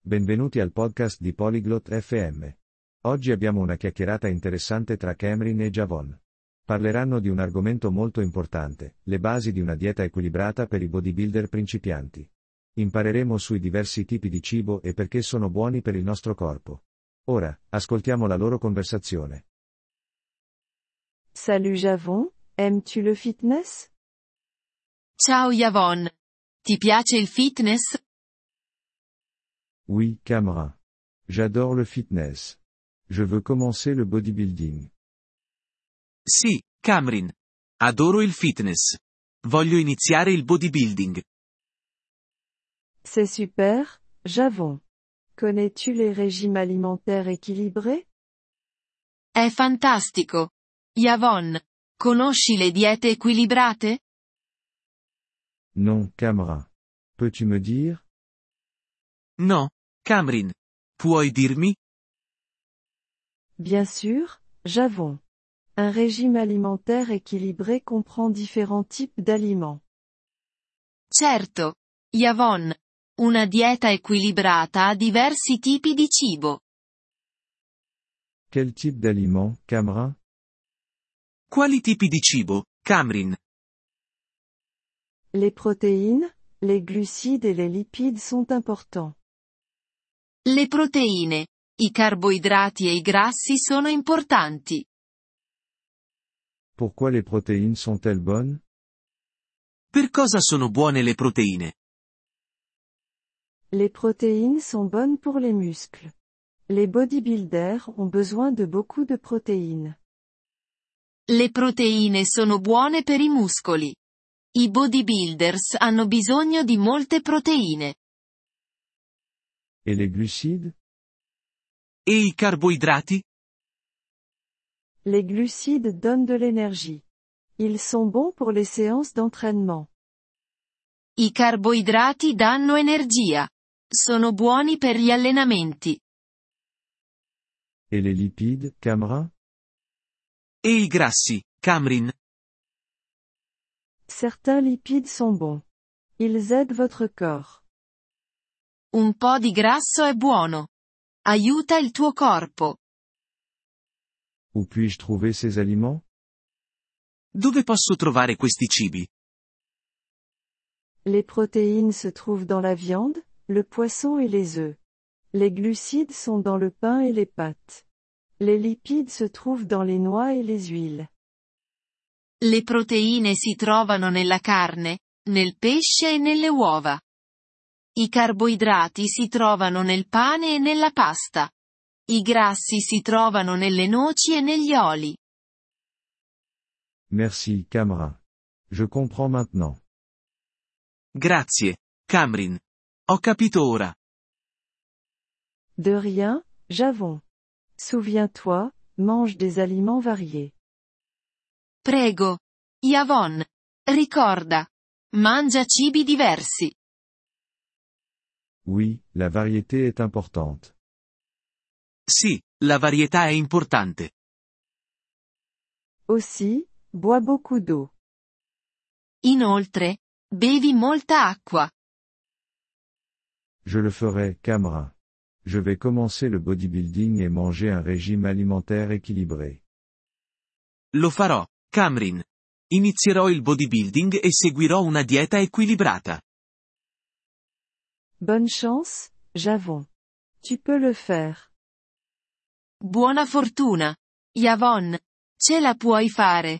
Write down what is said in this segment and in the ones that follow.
Benvenuti al podcast di Polyglot FM. Oggi abbiamo una chiacchierata interessante tra Cameron e Javon. Parleranno di un argomento molto importante, le basi di una dieta equilibrata per i bodybuilder principianti. Impareremo sui diversi tipi di cibo e perché sono buoni per il nostro corpo. Ora, ascoltiamo la loro conversazione. Salut Javon, aimes-tu le fitness? Ciao Yavon. Ti piace il fitness? Oui, Cameron. J'adore le fitness. Je veux commencer le bodybuilding. Sì, Cameron. Adoro il fitness. Voglio iniziare il bodybuilding. C'est super, Javon. Connais-tu les régimes alimentaires équilibrés? È fantastico. Yavon. Conosci le diete equilibrate? Non, Cameron. Peux-tu me dire? No, Cameron. Puoi dirmi? Bien sûr, Javon. Un régime alimentaire équilibré comprend différents types d'aliments. Certo. Yavon. Una dieta equilibrata ha diversi tipi di cibo. Quel type d'aliment, Cameron? Quali tipi di cibo, Cameron? Les protéines, les glucides et les lipides sont importants. Le proteine, i carboidrati e i grassi sono importanti. Pourquoi les protéines sont-elles bonnes? Per cosa sono buone le proteine? Les protéines sont bonnes pour les muscles. Les bodybuilders ont besoin de beaucoup de protéines. Le proteine sono buone per i muscoli. I bodybuilders hanno bisogno di molte proteine. Et les glucides? E i carboidrati? Les glucides donnent de l'énergie. Ils sont bons pour les séances d'entraînement. I carboidrati danno energia. Sono buoni per gli allenamenti. Et les lipides, Cameron? E i grassi, Cameron? Certains lipides sont bons. Ils aident votre corps. Un po' di grasso è buono. Aiuta il tuo corpo. Où puis-je trouver ces aliments? Dove posso trovare questi cibi? Les protéines se trouvent dans la viande, le poisson et les œufs. Les glucides sont dans le pain et les pâtes. Les lipides se trouvent dans les noix et les huiles. Le proteine si trovano nella carne, nel pesce e nelle uova. I carboidrati si trovano nel pane e nella pasta. I grassi si trovano nelle noci e negli oli. Merci, Cameron. Je comprends maintenant. Grazie, Cameron. Ho capito ora. De rien, Javon. Souviens-toi, mange des aliments variés. Prego. Yavon. Ricorda. Mangia cibi diversi. Oui, la variété est importante. Sì, la varietà è importante. Aussi, bois beaucoup d'eau. Inoltre, bevi molta acqua. Je le ferai, Cameron. Je vais commencer le bodybuilding et manger un régime alimentaire équilibré. Lo farò, Cameron. Inizierò il bodybuilding e seguirò una dieta equilibrata. Bonne chance, Javon. Tu peux le faire. Buona fortuna. Yavon. Ce la puoi fare.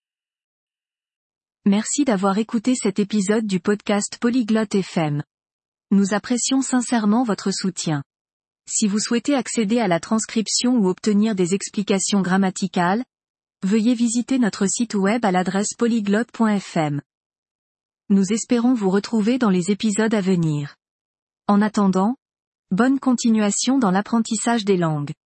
Merci d'avoir écouté cet épisode du podcast Polyglotte FM. Nous apprécions sincèrement votre soutien. Si vous souhaitez accéder à la transcription ou obtenir des explications grammaticales, veuillez visiter notre site web à l'adresse polyglotte.fm. Nous espérons vous retrouver dans les épisodes à venir. En attendant, bonne continuation dans l'apprentissage des langues.